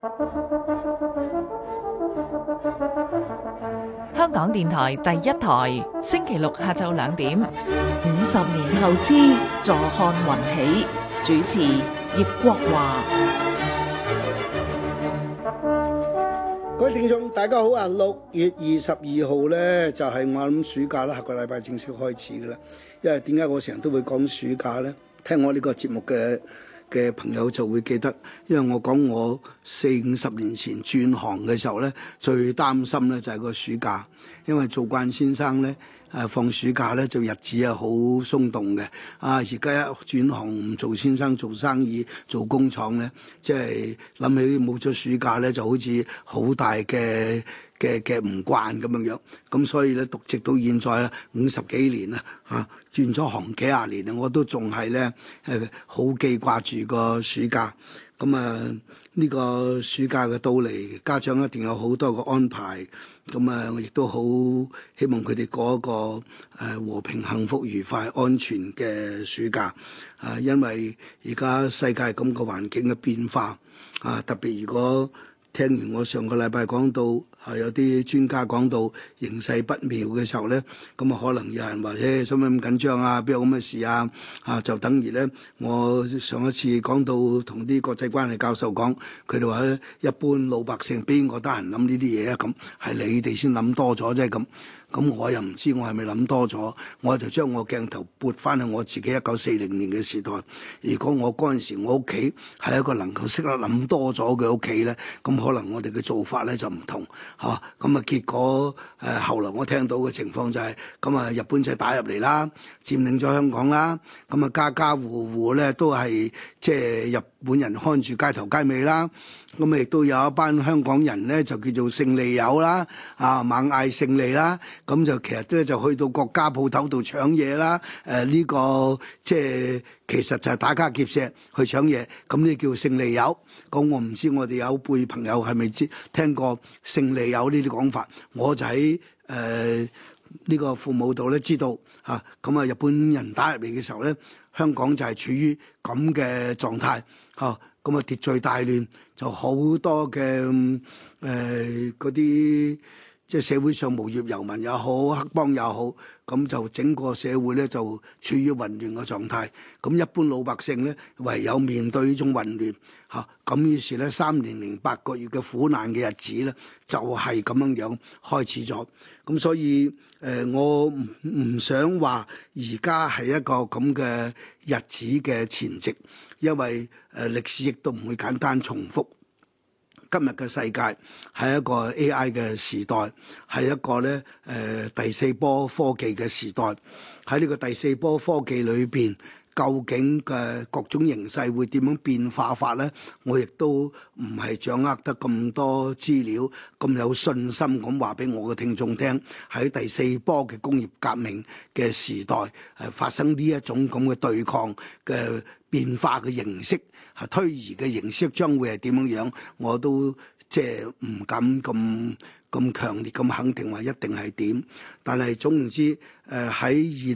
香港電台第一台，星期六下晝2點。 50年後之坐看雲起，主持葉國華。 各位聽眾，大家好啊！6月22號呢，就係我諗暑假啦，下個禮拜正式開始噶啦。因為點解我成日都會講暑假呢？聽我呢個節目嘅朋友就會記得，因為我講我40-50年前轉行嘅時候呢，最擔心呢就係個暑假，因為做慣先生呢。放暑假咧就日子係好鬆動嘅，而家一轉行唔做先生做生意做工廠咧，即係諗起冇咗暑假咧就好似好大嘅唔慣咁樣樣，咁所以咧直到現在50幾年啦轉咗行幾廿年我都仲係咧好記掛住個暑假。咁呢個暑假嘅到嚟，家長一定有好多個安排。咁我亦都好希望佢哋過一個和平、幸福、愉快、安全嘅暑假。因為而家世界咁個環境嘅變化，特別如果聽完我上個禮拜講到有啲專家講到形勢不妙嘅時候咧，咁可能有人話使乜咁緊張啊？邊有咁嘅事啊？就等於咧，我上一次講到同啲國際關係教授講，佢哋話咧，一般老百姓邊個得閒諗呢啲嘢啊？咁係你哋先諗多咗啫咁。咁我又唔知我係咪諗多咗，我就將我鏡頭撥翻去我自己1940年嘅時代。如果我嗰陣時我屋企係一個能夠識得諗多咗嘅屋企咧，咁可能我哋嘅做法咧就唔同嚇。咁結果後來我聽到嘅情況就係咁日本仔打入嚟啦，佔領咗香港啦，咁家家戶戶咧都係即係日本人看住街頭街尾啦。咁亦都有一班香港人咧，就叫做勝利友啦，猛嗌勝利啦，咁就其實咧就去到國家鋪頭度搶嘢啦，呢個即係其實就係打家劫舍去搶嘢，咁呢叫勝利友。咁我唔知我哋有輩朋友係咪聽過勝利友呢啲講法？我就喺呢個父母度咧知道嚇，咁日本人打入嚟嘅時候咧，香港就係處於咁嘅狀態嚇。咁秩序大亂，就好多嘅嗰啲即係社會上無業遊民也好，黑幫也好，咁就整個社會咧就處於混亂嘅狀態。咁一般老百姓咧唯有面對呢種混亂嚇，咁於是咧3年8個月嘅苦難嘅日子咧就係咁樣樣開始咗。咁所以我唔想話而家係一個咁嘅日子嘅前夕。因為歷史亦都唔會簡單重複。今日嘅世界係一個 AI 嘅時代，係一個咧第4波科技嘅時代。喺呢個第4波科技裏邊，究竟嘅各種形勢會點樣變化法咧？我亦都唔係掌握得咁多資料，咁有信心咁話俾我嘅聽眾聽。喺第4波嘅工業革命嘅時代，發生呢一種咁嘅對抗嘅變化嘅形式，推移嘅形式將會係點樣樣？我都即係唔敢咁強烈咁肯定話一定係點。但係總言之，喺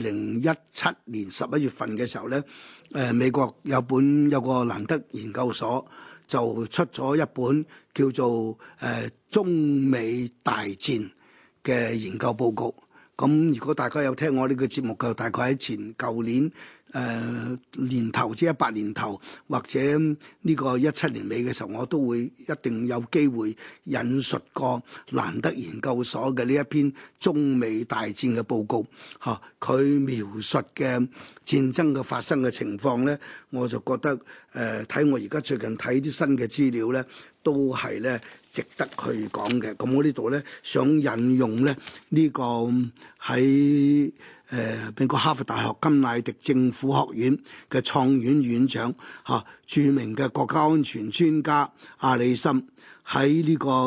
2017年11月份嘅時候咧，美國有個蘭德研究所就出咗一本叫做中美大戰嘅研究報告。咁如果大家有聽我呢個節目嘅，大概喺舊年年頭，即係18年頭，或者呢個17年尾嘅時候，我都會一定有機會引述過蘭德研究所嘅呢一篇中美大戰嘅報告。佢描述嘅戰爭嘅發生嘅情況呢，我就覺得睇我而家最近睇啲新嘅資料呢，都係呢值得去講嘅。咁我呢度呢，想引用呢個喺美國哈佛大學甘迺迪政府學院嘅創院院長著名嘅國家安全專家阿里森喺呢個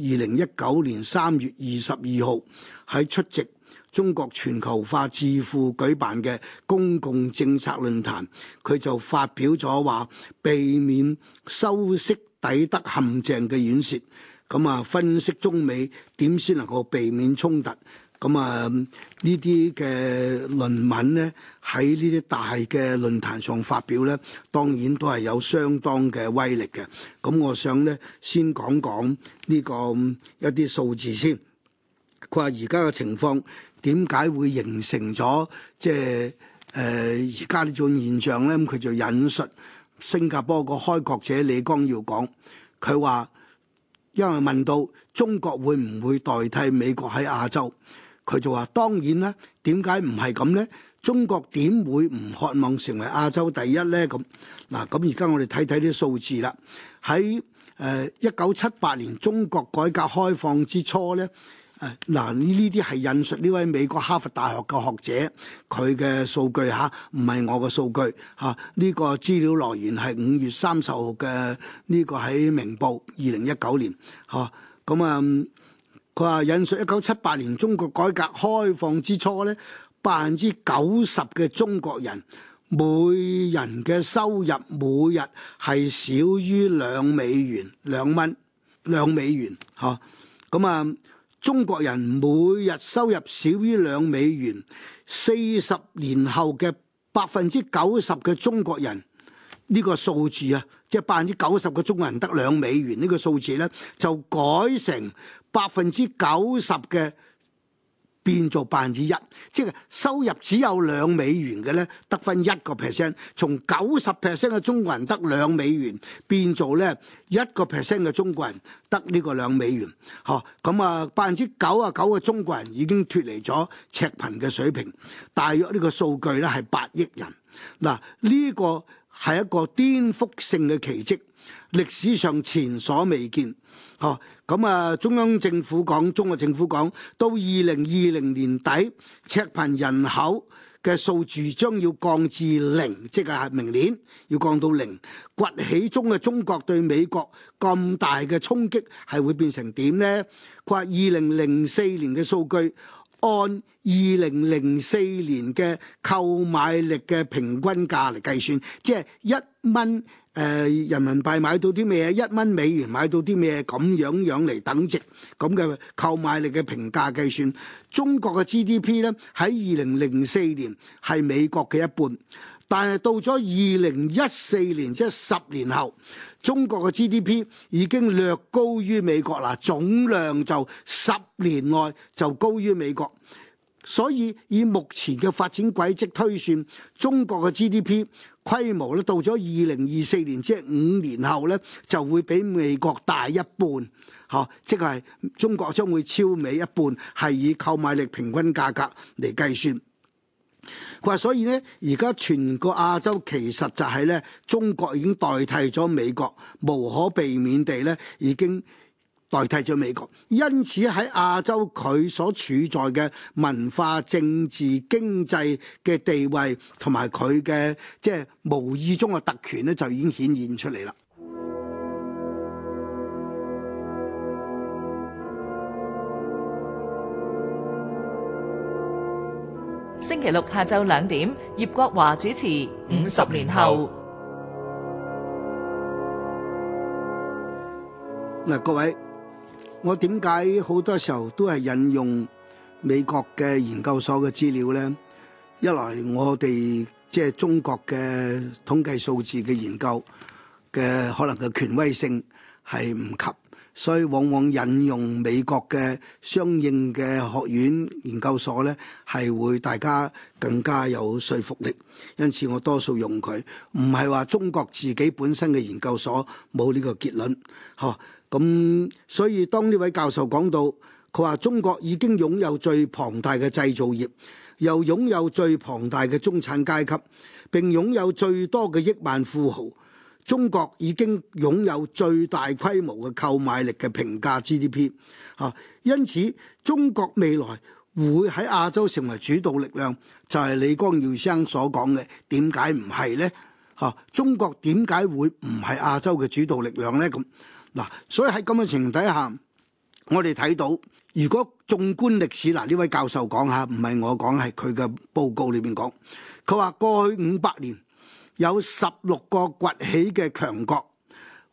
2019年3月22號喺出席中國全球化智庫舉辦嘅公共政策論壇，佢就發表咗話避免修昔底德陷阱嘅演說。分析中美點先能夠避免衝突， 咁啊，呢啲嘅論文咧喺呢啲大嘅論壇上發表咧，當然都係有相當嘅威力嘅。咁我想咧先講講呢個一啲數字先。佢話而家嘅情況點解會形成咗即係而家呢種現象咧？咁佢就引述新加坡個開國者李光耀講，佢話因為問到中國會唔會代替美國喺亞洲？佢就話當然啦，點解唔係咁呢？中國點會唔渴望成為亞洲第一呢？咁嗱，咁而家我哋睇睇啲數字啦。喺1978年中國改革開放之初呢，嗱呢啲係引述呢位美國哈佛大學嘅學者佢嘅數據嚇，唔係我嘅數據嚇。呢個資料來源係5月30號嘅呢個喺明報2019年嚇。咁啊，佢話引述1978年中國改革開放之初咧，90%嘅中國人每人嘅收入每日係少於$2，2美元嚇。咁啊，中國人每日收入少於$2 ，40年後嘅90%嘅中國人呢個數字啊，即係90%嘅中國人得$2呢個數字咧，就改成90%嘅變做1%，即係收入只有$2嘅咧，得返1%。從90% 嘅中國人得$2，變做咧1% 嘅中國人得呢個$2。嗬，咁啊99%嘅中國人已經脫離咗赤貧嘅水平，大約呢個數據咧係8億人。嗱，呢個係一個顛覆性嘅奇蹟，歷史上前所未見。咁啊，中國政府講，到2020年底，赤貧人口嘅數字將要降至0，即係明年要降到0。崛起中嘅中國對美國咁大嘅衝擊係會變成點呢？佢話2004年嘅數據，按2004年嘅購買力嘅平均價嚟計算，即係1蚊人民幣買到啲咩，1蚊美元買到啲咩，咁樣嚟等值咁嘅購買力嘅評價計算，中國嘅 GDP 咧喺2004年係美國嘅一半，但係到咗2014年，即係10年後，中國嘅 GDP 已經略高於美國啦，總量就10年內就高於美國。所以以目前嘅發展軌跡推算，中國嘅 GDP 規模咧到咗2024年，即係5年後咧，就會比美國大一半，即係中國將會超美一半，係以購買力平均價格嚟計算。佢話所以呢，而家全個亞洲其實就係咧，中國已經代替咗美國，無可避免地咧已經代替咗美國，因此喺亞洲佢所處在嘅文化、政治、經濟嘅地位同埋佢嘅即係無意中嘅特權咧，就已經顯現出嚟啦。 星期六下晝2點，葉國華主持《50年後》。 嗱，各位。我點解好多時候都係引用美國嘅研究所嘅資料呢？一來我哋即係中國嘅統計數字嘅研究嘅可能嘅權威性係唔及，所以往往引用美國嘅相應嘅學院研究所呢，係會大家更加有說服力。因此我多數用佢，唔係話中國自己本身嘅研究所冇呢個結論，咁所以當呢位教授講到，佢話中國已經擁有最龐大嘅製造業，又擁有最龐大嘅中產階級，並擁有最多嘅億萬富豪。中國已經擁有最大規模嘅購買力嘅平價 GDP。因此中國未來會喺亞洲成為主導力量，就係李光耀先生所講嘅。點解唔係呢？中國點解會唔係亞洲嘅主導力量呢？咁嗱，所以喺咁嘅情形底下，我哋睇到，如果縱觀歷史，呢位教授講下，唔係我講，係佢嘅報告裏邊講，佢話過去500年有16個崛起嘅強國，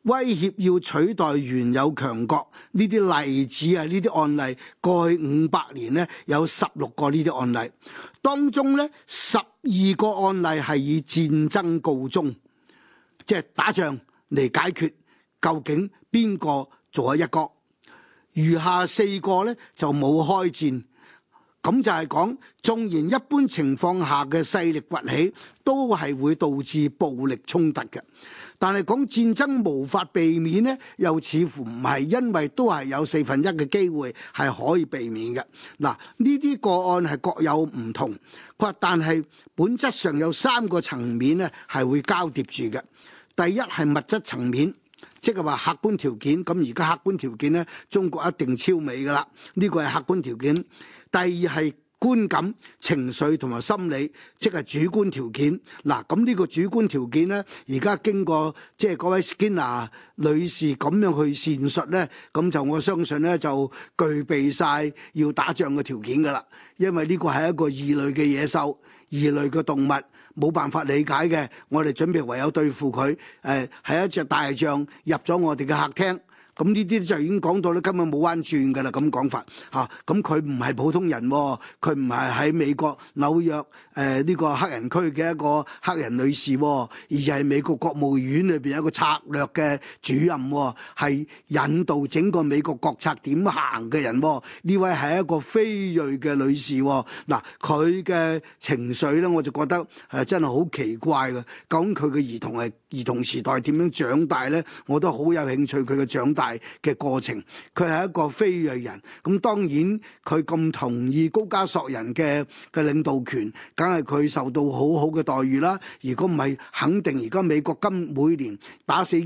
威脅要取代原有強國呢啲例子啊，呢啲案例過去500年呢，有16個呢啲案例，當中呢12個案例係以戰爭告終，即係打仗嚟解決究竟邊個做咗一國，餘下4個呢就冇開戰。咁就係講，縱然一般情況下嘅勢力崛起，都係會導致暴力衝突嘅。但係講戰爭無法避免呢，又似乎唔係，因為都係有1/4嘅機會係可以避免嘅。嗱，呢啲個案係各有唔同，佢話但係本質上有3個層面呢係會交疊住嘅。第一係物質層面。即係話客觀條件，咁而家客觀條件呢，中國一定超美㗎喇，呢個係客觀條件。第二係觀感、情緒同埋心理，即係主觀條件。嗱，咁呢個主觀條件呢，而家經過即係嗰位 Skinner 女士咁樣去闡述呢，咁就我相信呢，就具備晒要打仗嘅條件㗎喇，因為呢個係一個異類嘅野獸、異類嘅動物。冇辦法理解嘅，我哋準備唯有對付佢。係一隻大象入咗我哋嘅客廳，咁呢啲就已經講到咧，根本冇彎轉㗎啦。咁講法嚇，咁佢唔係普通人，佢唔係喺美國紐約呢個黑人區嘅一個黑人女士，而係美國國務院裏邊一個策略嘅主任，係引導整個美國國策點行嘅人。呢位係一個非裔嘅女士。嗱，佢嘅情緒咧，我就覺得真係好奇怪嘅。究竟佢嘅兒童時代點樣長大咧？我都好有興趣佢嘅長大嘅過程。佢係一個非裔人，咁當然佢咁同意高加索人嘅領導權，梗係佢受到好好嘅待遇啦。如果唔係，肯定而家美國每年打死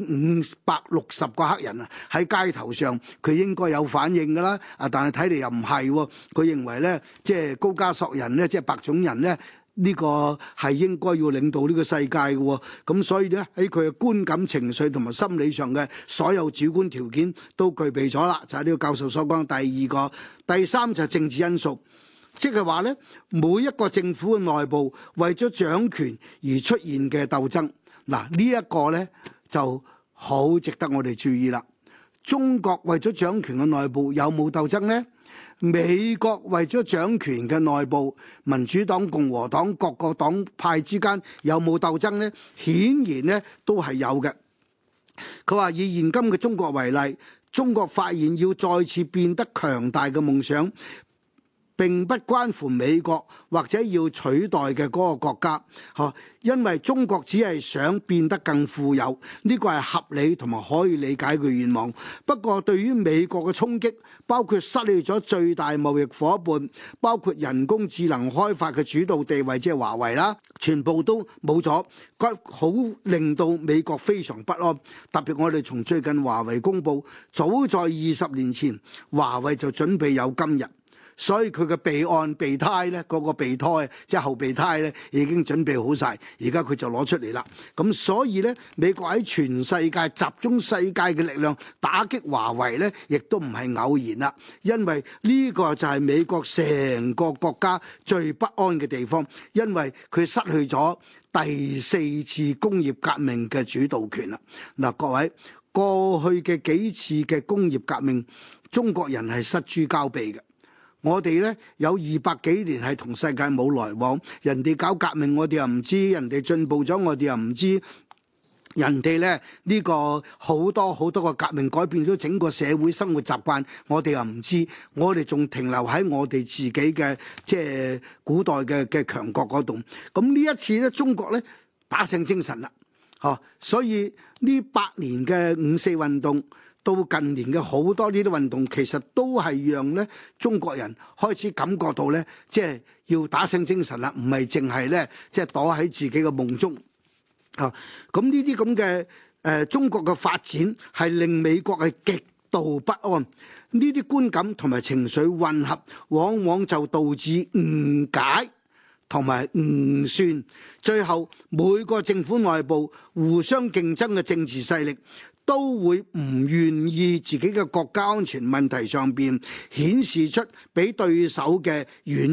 560個黑人啊，喺街頭上佢應該有反應㗎啦。但係睇嚟又唔係喎。佢認為咧，即係高加索人咧，即係白種人咧，呢個係應該要領導呢個世界嘅。咁所以咧，喺佢嘅觀感、情緒同埋心理上嘅所有主觀條件都具備咗啦。就係呢個教授所講第二個。第三就係政治因素，即係話咧，每一個政府嘅內部為咗掌權而出現嘅鬥爭。嗱，呢一個咧就好值得我哋注意啦。中國為咗掌權嘅內部有冇鬥爭呢？美國為咗掌權嘅內部，民主黨、共和黨各個黨派之間有冇鬥爭呢？顯然呢都係有嘅。佢話以現今嘅中國為例，中國發現要再次變得強大嘅夢想，並不關乎美國或者要取代嘅嗰個國家，因為中國只係想變得更富有，呢個係合理同埋可以理解嘅願望。不過對於美國嘅衝擊，包括失去咗最大貿易夥伴，包括人工智能開發嘅主導地位，即係華為啦，全部都冇咗，好令到美國非常不安。特別我哋從最近華為公佈，早在20年前，華為就準備有今日。所以佢嘅備胎咧，嗰個備胎即係後備胎咧，已經準備好晒，而家佢就攞出嚟啦。咁所以咧，美國喺全世界集中世界嘅力量打擊華為咧，亦都唔係偶然啦。因為呢個就係美國成個國家最不安嘅地方，因為佢失去咗第4次工業革命嘅主導權啦。嗱，各位，過去嘅幾次嘅工業革命，中國人係失諸交臂嘅。我哋呢有200幾年係同世界冇來往，人哋搞革命我哋又唔知，人哋進步咗我哋又唔知，人哋呢個好多個革命改變咗整個社會生活習慣，我哋又唔知，我哋仲停留喺我哋自己嘅即係古代嘅強國嗰度。咁呢一次呢，中國呢打醒精神啦，所以呢8年嘅5·4運動。到近年嘅好多呢啲運動，其實都係讓咧中國人開始感覺到咧，即係要打醒精神啦，唔係淨係咧即係躲喺自己嘅夢中啊！咁呢啲咁嘅中國嘅發展係令美國係極度不安，呢啲觀感同埋情緒混合，往往就導致誤解同埋誤算，最後每個政府內部互相競爭嘅政治勢力，都會唔願意自己嘅國家安全問題上邊顯示出比對手嘅軟弱，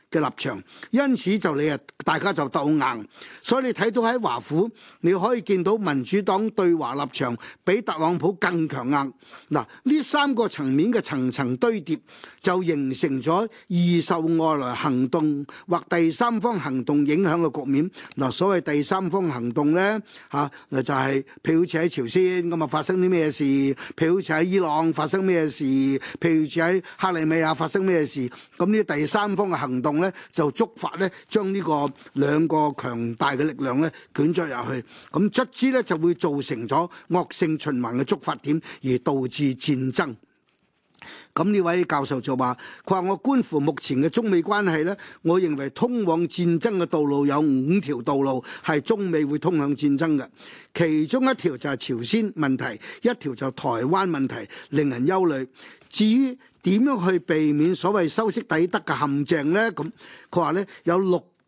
嘅立場，因此就大家就鬥硬，所以你睇到喺華府，你可以見到民主黨對華立場比特朗普更強硬。嗱，呢三個層面嘅層層堆疊，就形成咗易受外來行動或第三方行動影響嘅局面。嗱，所謂第三方行動呢，就係譬如好似喺朝鮮咁啊發生啲咩事，譬如好似喺伊朗發生咩事，譬如好似喺克里米亞發生咩事，咁呢第三方嘅行動呢，就觸發呢將呢個兩個強大嘅力量呢捲咗入去，咁卒之呢，就會造成咗惡性循環嘅觸發點，而導致戰爭。咁呢位教授就話：佢話我觀乎目前嘅中美關係呢，我認為通往戰爭嘅道路有5條道路係中美會通向戰爭嘅，其中一條就係朝鮮問題，一條就台灣問題，令人憂慮。至於點樣去避免所謂修昔底德嘅陷阱呢？咁佢話呢，有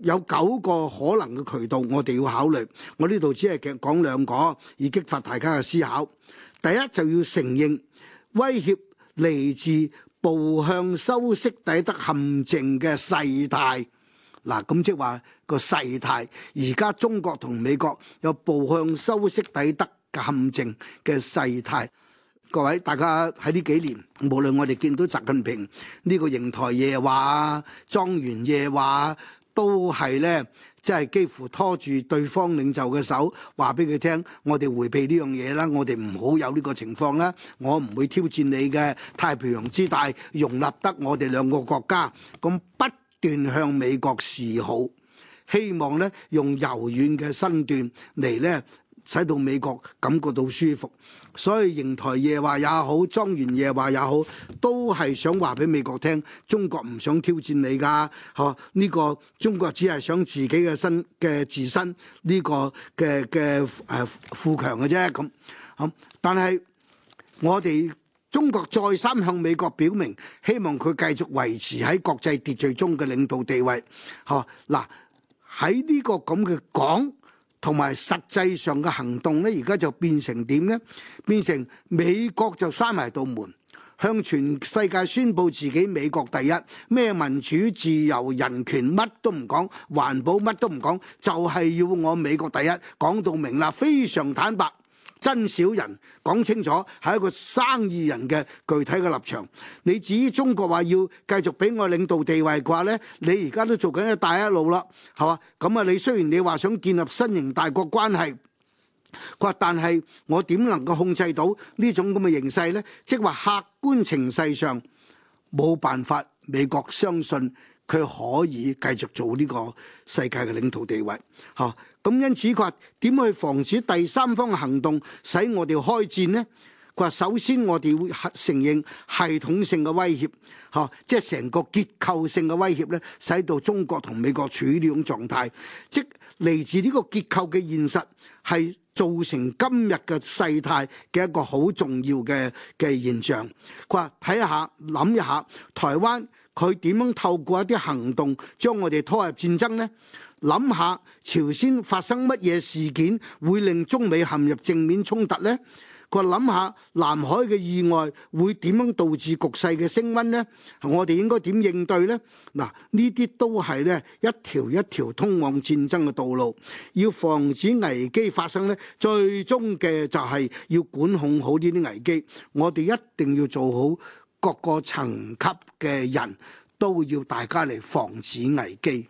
9個可能嘅渠道，我哋要考慮。我呢度只係講2個，以激發大家嘅思考。第一就要承認威脅嚟自步向修昔底德陷阱嘅勢態。嗱，咁即係話個勢態，而家中國同美國有步向修昔底德嘅陷阱嘅勢態。各位，大家喺呢幾年，無論我哋見到習近平呢個瀛台夜話、莊園夜話，都係呢，即係幾乎拖住對方領袖嘅手，話俾佢聽，我哋迴避呢樣嘢啦，我哋唔好有呢個情況啦，我唔會挑戰你嘅太平洋之大，容納得我哋2個國家，咁不斷向美國示好，希望呢用柔軟嘅身段嚟呢，使到美國感覺到舒服。所以瀛台夜話也好，莊園夜話也好，都係想話俾美國聽，中國唔想挑戰你㗎，呢個中國只係想自己嘅自身呢個嘅富強嘅啫咁。但係我哋中國再三向美國表明，希望佢繼續維持喺國際秩序中嘅領導地位。嗱，喺呢個咁嘅講同埋實際上嘅行動呢，而家就變成點呢？變成美國就閂埋道門，向全世界宣佈自己美國第一，咩民主、自由、人權乜都唔講，環保乜都唔講，就係要我美國第一，講到明啦，非常坦白。真小人講清楚，係一個生意人嘅具體嘅立場。你至於中國話要繼續俾我領導地位嘅話呢，你而家都做緊一帶一路啦，係嘛？咁啊，你雖然你話想建立新型大國關係，佢話但係我點能夠控制到呢種咁嘅形勢呢？即係話客觀情勢上冇辦法，美國相信佢可以繼續做呢個世界嘅領導地位，嚇。咁因此佢話點去防止第三方嘅行動使我哋開戰呢？佢話首先我哋會承認系統性嘅威脅，即係成個結構性嘅威脅咧，使到中國同美國處於呢種狀態，即嚟自呢個結構嘅現實係造成今日嘅世態嘅一個好重要嘅現象。佢話睇下諗一下台灣佢點樣透過一啲行動將我哋拖入戰爭呢？諗下朝鮮發生乜嘢事件會令中美陷入正面衝突呢？佢話諗下南海嘅意外會點樣導致局勢嘅升溫呢？我哋應該點應對呢？嗱，呢啲都係呢一條一條通往戰爭嘅道路。要防止危機發生呢，最終嘅就係要管控好呢啲危機。我哋一定要做好各個層級嘅人都要大家嚟防止危機。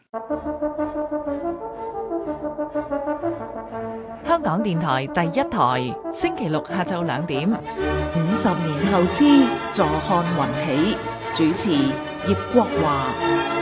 香港電台第一台，星期六下晝2點。 50年後之坐看雲起，主持葉國華。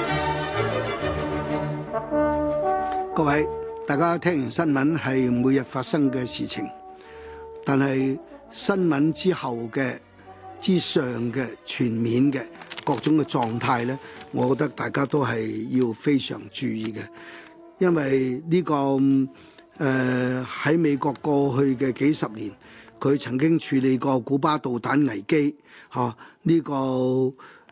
各位，大家聽完新聞係每日發生嘅事情，但係新聞之後嘅之上嘅全面嘅各種嘅狀態呢，我覺得大家都係要非常注意嘅，因為呢個喺美國過去嘅幾十年，佢曾經處理過古巴導彈危機，呢個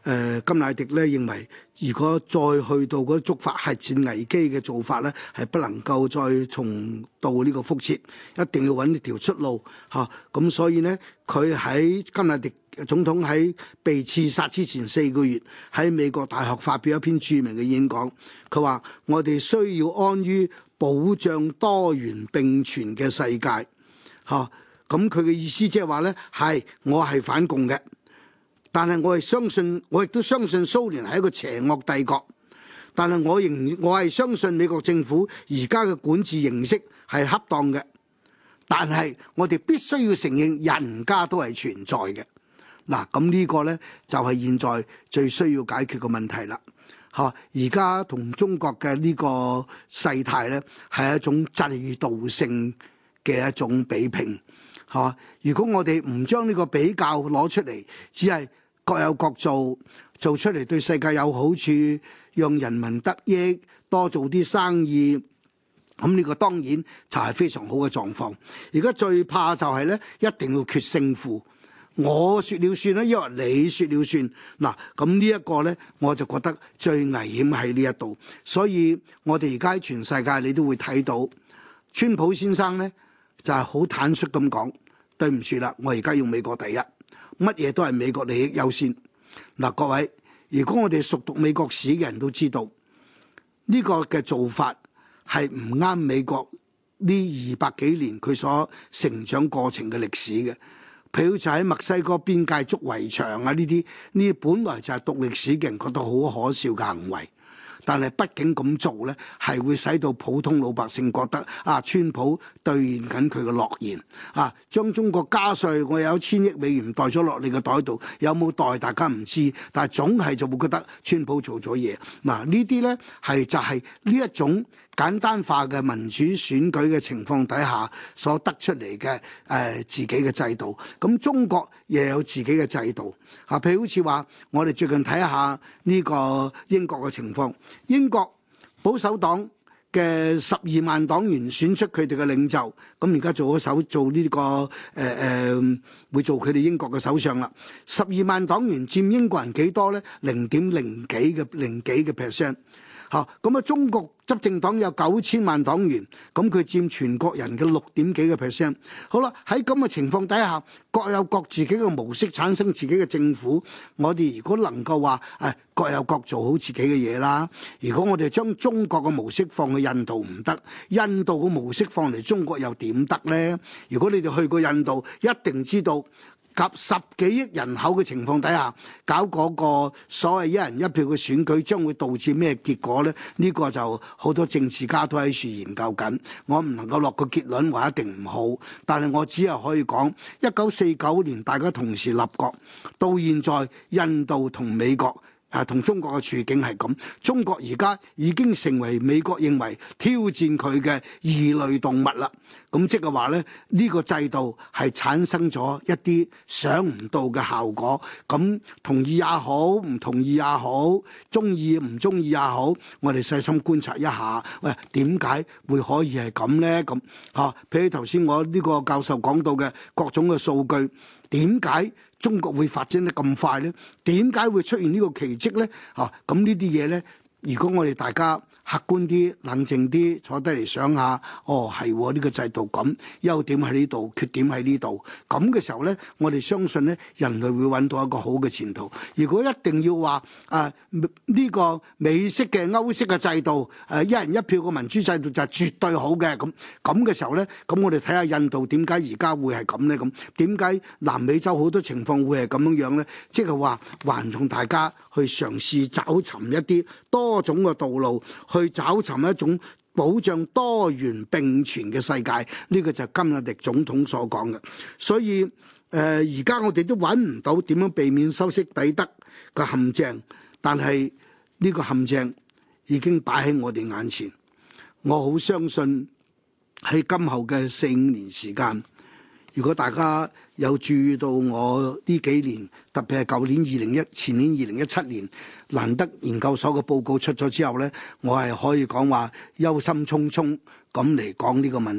甘迺迪咧認為，如果再去到嗰觸發核戰危機嘅做法咧，係不能夠再重蹈呢個覆轍，一定要揾一條出路嚇。咁所以呢，佢喺甘迺迪總統喺被刺殺之前4個月，喺美國大學發表一篇著名嘅演講，佢話：我哋需要安於保障多元並存嘅世界，嚇。咁佢嘅意思即係話呢，係我係反共嘅，但係我亦都相信蘇聯係一個邪惡帝國，但係我係相信美國政府而家嘅管治形式係恰當嘅，但係我哋必須要承認人家都係存在嘅。嗱，咁呢個呢，就係現在最需要解決嘅問題啦。嚇，而家同中國嘅呢個勢態呢，係一種制度性嘅一種比拼。嚇，如果我哋唔將呢個比較攞出嚟，只係各有各做出嚟對世界有好處，讓人民得益，多做啲生意，咁呢個當然就係非常好嘅狀況。而家最怕就係呢，一定要決勝負。我説了算啦，因為你説了算。嗱，咁呢一個呢，我就覺得最危險喺呢一度。所以我哋而家喺全世界你都會睇到，川普先生呢，就係好坦率咁講，對唔住啦，我而家要美國第一，乜嘢都係美國利益優先。嗱，各位，如果我哋熟讀美國史嘅人都知道，呢個嘅做法係唔啱美國呢200幾年佢所成長過程嘅歷史嘅。譬如就喺墨西哥邊界築圍牆啊，呢啲本來就係讀歷史嘅人覺得好可笑嘅行為，但係畢竟咁做呢，係會使到普通老百姓覺得啊，川普兌現緊佢嘅諾言啊，將中國加稅，我有1000億美元袋咗落你嘅袋度，有冇袋大家唔知，但係總係就會覺得川普做咗嘢。嗱，呢啲呢就係呢一種簡單化嘅民主選舉嘅情況底下所得出嚟嘅自己嘅制度。咁中國亦有自己嘅制度啊，譬如好似話我哋最近睇下呢個英國嘅情況，英國保守黨嘅12萬黨員選出佢哋嘅領袖，咁而家做呢個會做佢哋英國嘅首相啦。12萬黨員佔英國人幾多呢？0.0幾嘅 percent。嚇，咁啊！中國執政黨有9000萬黨員，咁佢佔全國人嘅6點幾嘅 percent。好啦，喺咁嘅情況底下，各有各自己嘅模式，產生自己嘅政府。我哋如果能夠話各有各做好自己嘅嘢啦。如果我哋將中國嘅模式放去印度唔得，印度嘅模式放嚟中國又點得呢？如果你哋去過印度，一定知道。及10幾億人口嘅情況底下，搞嗰個所謂一人一票嘅選舉，將會導致咩結果呢？呢個就好多政治家都喺處研究緊。我唔能夠落個結論話一定唔好，但係我只係可以講1949年大家同時立國，到現在印度同美國。同中國嘅處境係咁，中國而家已經成為美國認為挑戰佢嘅異類動物啦。咁即係話咧，呢個制度係產生咗一啲想唔到嘅效果。咁同意也好，唔同意也好，中意唔中意也好，我哋細心觀察一下，喂，點解會可以係咁呢？咁譬如頭先我呢個教授講到嘅各種嘅數據，點解中國會發展得咁快呢？點解會出現呢個奇蹟呢？咁呢啲嘢呢，如果我哋大家客觀啲、冷靜啲坐低嚟想下，係呢個制度咁，優點喺呢度，缺點喺呢度，咁嘅時候呢，我哋相信呢，人類會揾到一個好嘅前途。如果一定要話呢個美式嘅歐式嘅制度，一人一票嘅民主制度就係絕對好嘅，咁嘅時候呢，咁我哋睇下印度點解而家會係咁呢？咁點解南美洲好多情況會係咁樣呢？即係話還從大家去嘗試找尋一啲多種嘅道路。去找尋一種保障多元並存嘅世界，呢個就係甘迺迪總統所講嘅。所以而家我哋都揾唔到點樣避免修昔底德嘅陷阱，但係呢個陷阱已經擺喺我哋眼前。我好相信喺今後嘅4-5年時間，如果大家有注意到我呢幾年，特別係舊年前年2017年蘭德研究所嘅報告出咗之後呢，我係可以講話憂心忡忡咁嚟講呢個問題。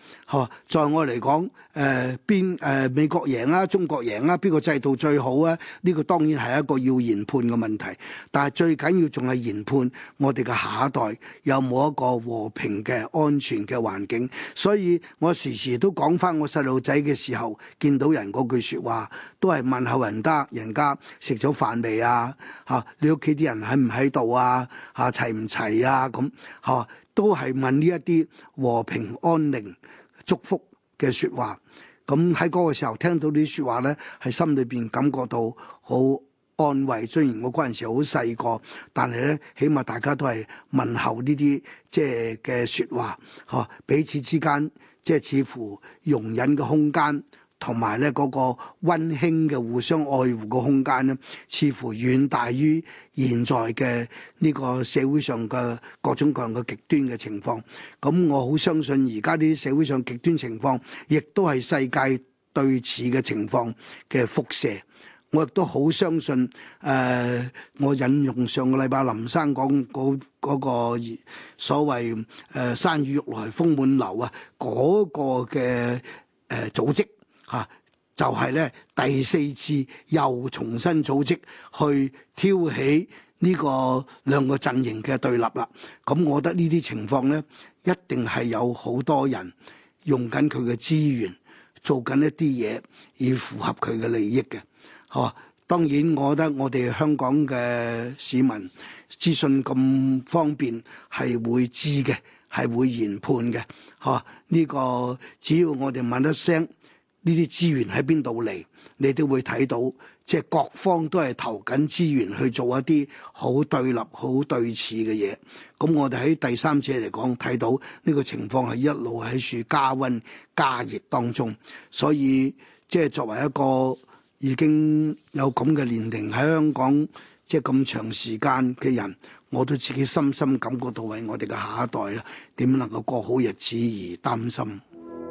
在我嚟講，美國贏啊，中國贏啊，邊個制度最好啊？呢個當然係一個要研判嘅問題，但係最緊要仲係研判我哋嘅下一代有冇一個和平嘅安全嘅環境。所以我時時都講翻我細路仔嘅時候，見到人嗰句説話，都係問候人家食咗飯未啊？你屋企啲人喺唔喺度啊？齊唔齊啊？咁都係問呢一啲和平安寧祝福嘅説話。咁喺嗰個時候聽到呢啲説話呢，係心裏邊感覺到好安慰。雖然我嗰陣時好細個，但係呢，起碼大家都係問候呢啲即係嘅説話，彼此之間即係似乎容忍嘅空間，同埋咧嗰個溫馨嘅互相愛護嘅空間咧，似乎遠大於現在嘅呢個社會上嘅各種各樣嘅極端嘅情況。咁我好相信而家呢啲社會上極端情況，亦都係世界對峙嘅情況嘅輻射。我亦都好相信，我引用上個禮拜林生講嗰個所謂山雨欲來風滿樓啊，嗰個嘅組織。就係咧第4次又重新組織去挑起呢個兩個陣營嘅對立啦。咁我覺得呢啲情況咧，一定係有好多人用緊佢嘅資源，做緊一啲嘢，以符合佢嘅利益嘅。當然我覺得我哋香港嘅市民資訊咁方便，係會知嘅，係會研判嘅。呢個只要我哋問一聲，呢啲資源喺邊度嚟，你都會睇到，即係各方都係投緊資源去做一啲好對立、好對峙嘅嘢。咁我哋喺第三者嚟講睇到呢個情況係一路喺處加溫加熱當中，所以即係作為一個已經有咁嘅年齡喺香港即係咁長時間嘅人，我都自己深深感覺到為我哋嘅下一代啦，點能夠過好日子而擔心。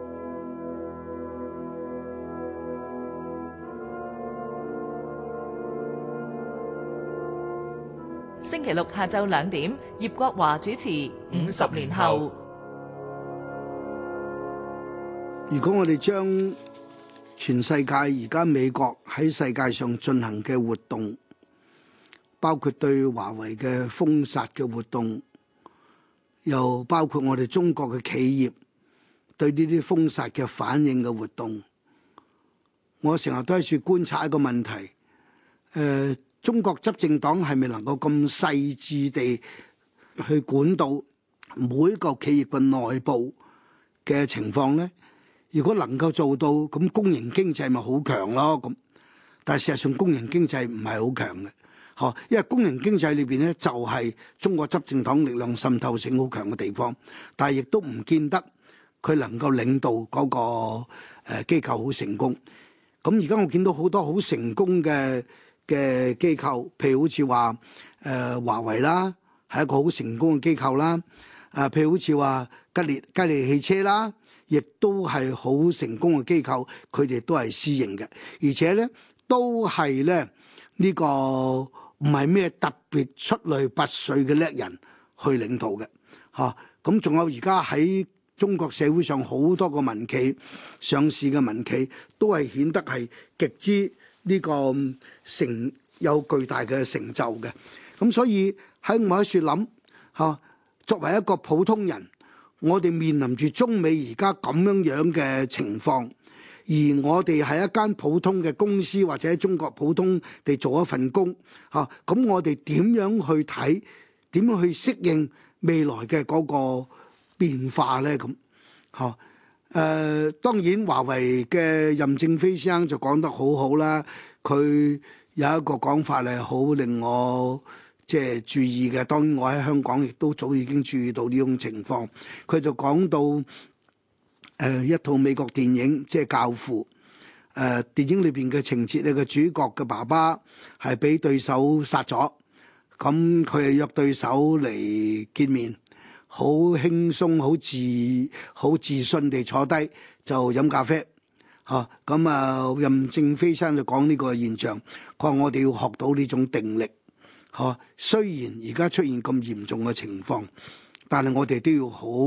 星期六下晝2點，葉國華主持《50年後》。 如果我哋將全世界而家美國喺世界上進行嘅活動，包括對華為嘅封殺嘅活動，又包括我哋中國嘅企業對呢啲封殺嘅反應嘅活動，我成日都喺處觀察一個問題，中國執政黨係咪能夠咁細緻地去管到每一個企業嘅內部嘅情況呢？如果能夠做到，咁公營經濟咪好強咯。咁，但係事實上公營經濟唔係好強嘅，因為公營經濟裏邊呢，就係中國執政黨力量滲透性好強嘅地方，但係亦都唔見得佢能夠領導嗰個機構好成功。咁而家我見到好多好成功嘅機構，譬如好似話華為啦，係一個好成功嘅機構啦。譬如好似話吉利汽車啦，亦都係好成功嘅機構，佢哋都係私營嘅，而且咧都係咧呢個唔係咩特別出類拔萃嘅叻人去領導嘅嚇。咁仲有而家喺中國社會上好多個民企上市嘅民企，都係顯得係極之呢個有巨大嘅成就嘅。咁所以喺我喺處諗嚇，作為一個普通人，我哋面臨住中美而家咁樣嘅情況，而我哋係一間普通嘅公司，或者喺中國普通地做一份工嚇，咁我哋點樣去睇？點樣去適應未來嘅嗰個變化呢？咁嚇當然華為嘅任正非先生就講得好好啦，佢有一個講法係好令我即係注意嘅。當然我喺香港亦都早已經注意到呢種情況。佢就講到一套美國電影即係《教父》，電影裏邊嘅情節咧，個主角嘅爸爸係俾對手殺咗，咁佢係約對手嚟見面，好輕鬆好自信地坐低就飲咖啡嚇。咁任正非先生就講呢個現象，佢話我哋要學到呢種定力嚇。雖然而家出現咁嚴重嘅情況，但係我哋都要好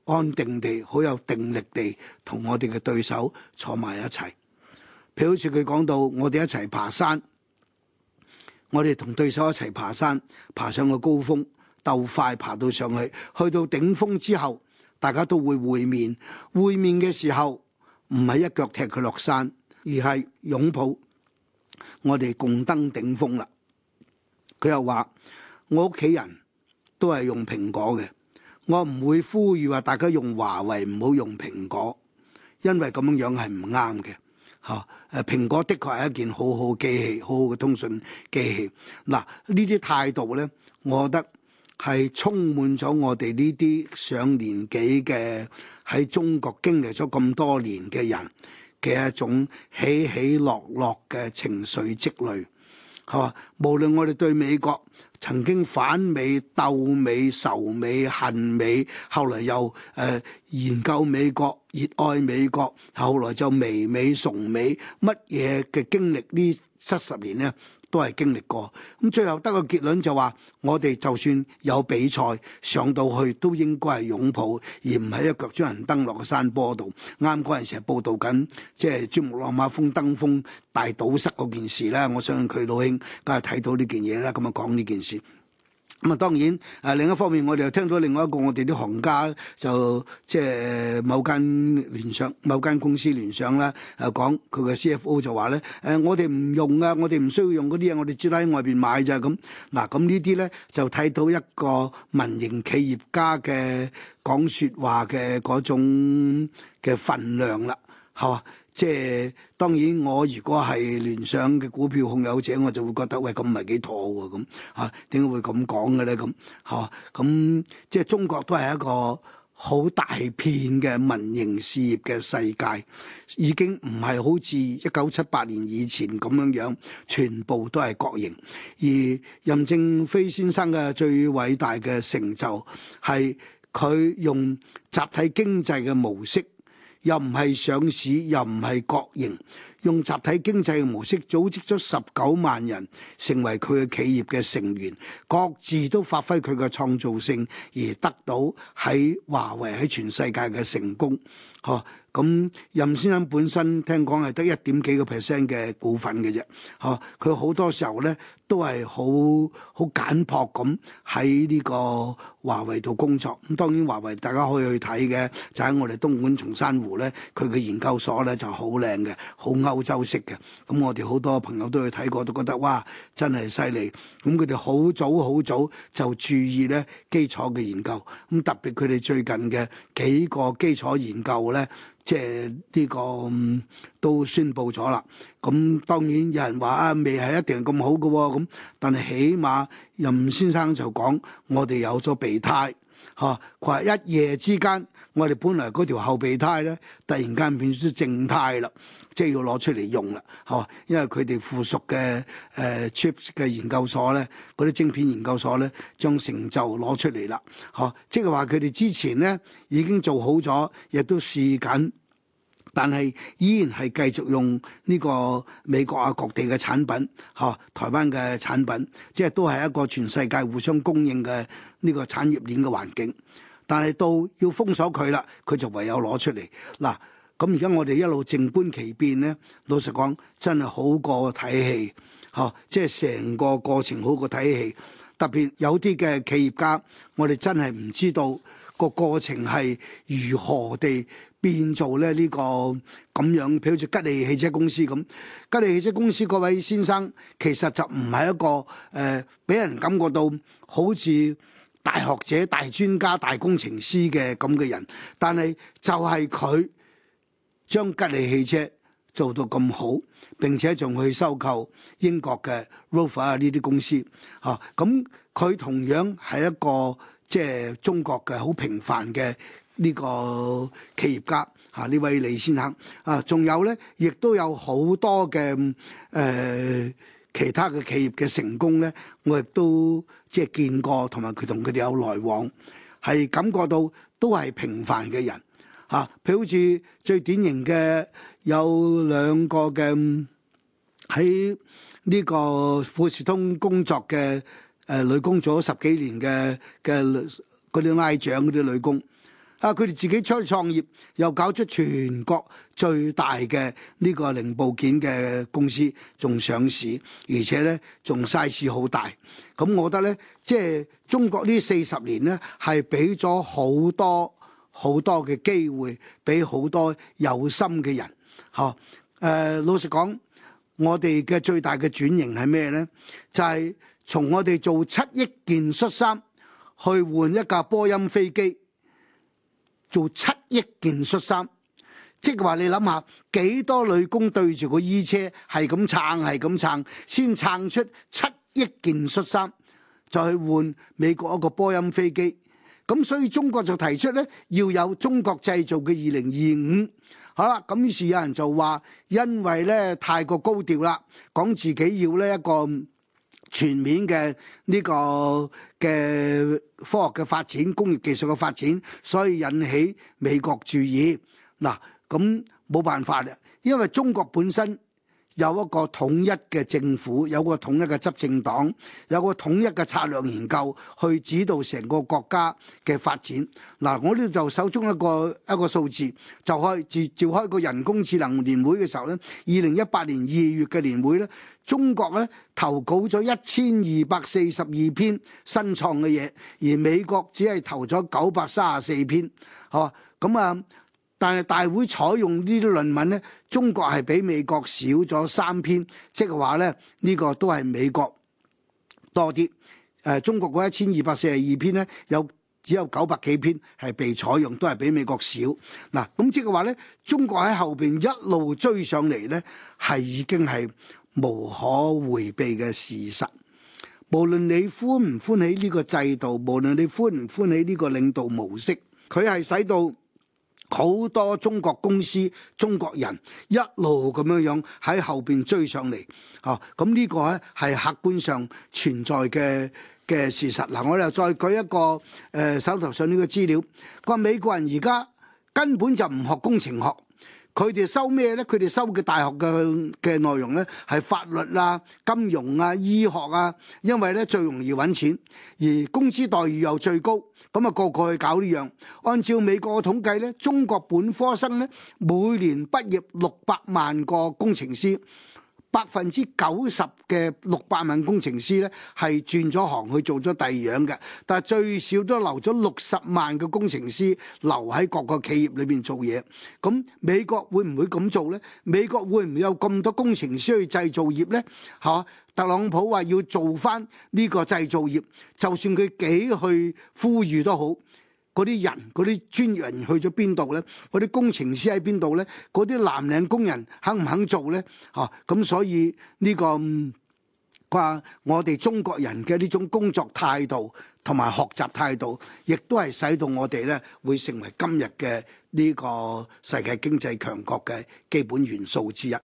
安定地、好有定力地同我哋嘅對手坐埋一齊。譬如好似佢講到，我哋一齊爬山，我哋同對手一齊爬山，爬上個高峰，鬥快爬到上去，去到頂峰之後，大家都會會面。會面嘅時候，唔係一腳踢佢落山，而係擁抱，我哋共登頂峰啦。佢又話：我屋企人都係用蘋果嘅，我唔會呼籲話大家用華為，唔好用蘋果，因為咁樣係唔啱嘅。蘋果的確係一件好好機器，好好嘅通訊機器。嗱，呢啲態度呢，我覺得係充滿咗我哋呢啲上年紀嘅喺中國經歷咗咁多年嘅人嘅一種起起落落嘅情緒積累。無論我哋對美國曾經反美、鬥美、仇美、恨美，後來又研究美國、熱愛美國，後來就媚美、崇美，乜嘢嘅經歷呢70年呢，都係經歷過。咁最後得個結論就話，我哋就算有比賽上到去，都應該係擁抱，而唔係一腳將人蹬落個山坡度。啱嗰陣時係報導緊，即係珠穆朗瑪峰登峰大堵塞嗰件事啦。我相信佢老兄梗係睇到呢件嘢啦，咁啊講呢件事。咁啊，當然另一方面，我哋又聽到另外一個我哋啲行家就即係某間公司聯想啦，講佢嘅 CFO 就話咧，我哋唔用啊，我哋唔需要用嗰啲嘢，我哋只喺外邊買咋咁。嗱，咁呢啲咧就睇到一個民營企業家嘅講説話嘅嗰種嘅份量啦，係嘛？即係當然，我如果係聯想嘅股票控有者，我就會覺得喂，咁唔係幾妥喎，咁點解會咁講嘅咧？咁咁即係中國都係一個好大片嘅民營事業嘅世界，已經唔係好似1978年以前咁樣全部都係國營。而任正非先生嘅最偉大嘅成就係佢用集體經濟嘅模式。又唔係上市，又唔係國營，用集體經濟嘅模式組織咗19萬人成為佢嘅企業嘅成員，各自都發揮佢嘅創造性，而得到喺華為喺全世界嘅成功。咁任先生本身聽講係得1點幾個% 嘅股份嘅啫。佢好多時候咧都係好簡樸咁喺呢個華為度工作。咁當然華為大家可以去睇嘅，就喺我哋東莞松山湖咧，佢嘅研究所咧就好靚嘅，好歐洲式嘅。咁我哋好多朋友都去睇過，都覺得哇，真係犀利。咁佢哋好早就注意咧基礎嘅研究。咁特別佢哋最近嘅幾個基礎研究咧，即係呢個都宣佈咗啦。咁當然有人話未係一定咁好嘅喎，咁但係起碼任先生就講我哋有咗備胎。佢話一夜之間，我哋本來嗰條後備胎咧，突然間變咗靜態啦，即係要攞出嚟用啦，因為佢哋附屬嘅chips 嘅研究所咧，嗰啲晶片研究所咧，將成就攞出嚟啦，即係話佢哋之前咧已經做好咗，亦都試緊。但係依然係繼續用呢個美國啊各地嘅產品，台灣嘅產品，即係都係一個全世界互相供應嘅呢個產業鏈嘅環境。但係到要封鎖佢啦，佢就唯有攞出嚟。嗱，咁而家我哋一路靜觀其變咧，老實講真係好過睇戲，即係成個過程好過睇戲。特別有啲嘅企業家，我哋真係唔知道個過程係如何地變做咧呢個咁樣，譬如好似吉利汽車公司咁。吉利汽車公司嗰位先生其實就唔係一個俾人感覺到好似大學者、大專家、大工程師嘅咁嘅人，但係就係佢將吉利汽車做到咁好，並且仲去收購英國嘅 Rover 啊呢啲公司。咁佢同樣係一個即係中國嘅好平凡嘅呢個企業家呢位李先生仲有咧，亦都有好多嘅其他嘅企業嘅成功咧，我亦都即係見過，同埋佢同佢哋有來往，係感覺到都係平凡嘅人譬如好似最典型嘅有兩個嘅喺呢個富士通工作嘅女工，做咗10幾年嘅嗰啲拉長嗰啲女工。 佢哋自己出去創業，又搞出全國最大嘅呢個零部件嘅公司，仲上市，而且呢仲 size 好大。咁我覺得呢，即係中國呢40年呢，係俾咗好多好多嘅機會，俾好多有心嘅人。老實講，我哋嘅最大嘅轉型係咩呢？就係從我哋做7億件恤衫，去換一架波音飛機。做7億件恤衫，即係話你諗下幾多女工對住個衣車係咁撐，係咁撐，先撐出7億件恤衫，就去換美國一個波音飛機。咁所以中國就提出呢，要有中國製造嘅2025。好啦，咁於是有人就話，因為呢太過高調啦，講自己要呢一個全面嘅呢個嘅科學嘅發展、工業技術嘅發展，所以引起美國注意。嗱，咁冇辦法啦，因為中國本身有一個統一嘅政府，有個統一嘅執政黨，有個統一嘅策略研究去指導成個國家嘅發展。嗱，我呢度就手中一個數字，就召開個人工智能年會嘅時候呢，2018年2月嘅年會呢，中國呢投稿咗1242篇新創嘅嘢，而美國只係投咗934篇，咁啊。但係大會採用呢啲論文呢，中國係比美國少咗3篇，即係話呢，呢個都係美國多啲。中國嗰1242篇呢，只有900幾篇係被採用，都係比美國少。嗱，咁即係話呢，中國喺後邊一路追上嚟呢，係已經係無可迴避嘅事實。無論你歡唔歡喜呢個制度，無論你歡唔歡喜呢個領導模式，佢係使到好多中國公司、中國人一路咁樣喺後邊追上嚟，咁呢個咧係客觀上存在嘅事實。嗱，我哋又再舉一個手頭上呢個資料，佢話美國人而家根本就唔學工程學，佢哋收咩呢？佢哋收嘅大學嘅內容呢，係法律啊、金融啊、醫學啊，因為呢最容易揾錢，而工資待遇又最高。咁啊，個個去搞呢樣。按照美國嘅統計呢，中國本科生呢每年畢業600萬個工程師，90%嘅600萬工程師呢係轉咗行去做咗第二樣嘅，但係最少都留咗60萬嘅工程師留喺各個企業裏邊做嘢。咁美國會唔會咁做呢？美國會唔會有咁多工程師去製造業呢？特朗普話要做翻呢個製造業，就算佢幾去呼籲都好，嗰啲人、嗰啲專業人去咗邊度呢？嗰啲工程師喺邊度呢？嗰啲藍領工人肯唔肯做呢？咁所以呢個話我哋中國人嘅呢種工作態度同埋學習態度，亦都係使到我哋呢會成為今日嘅呢個世界經濟強國嘅基本元素之一。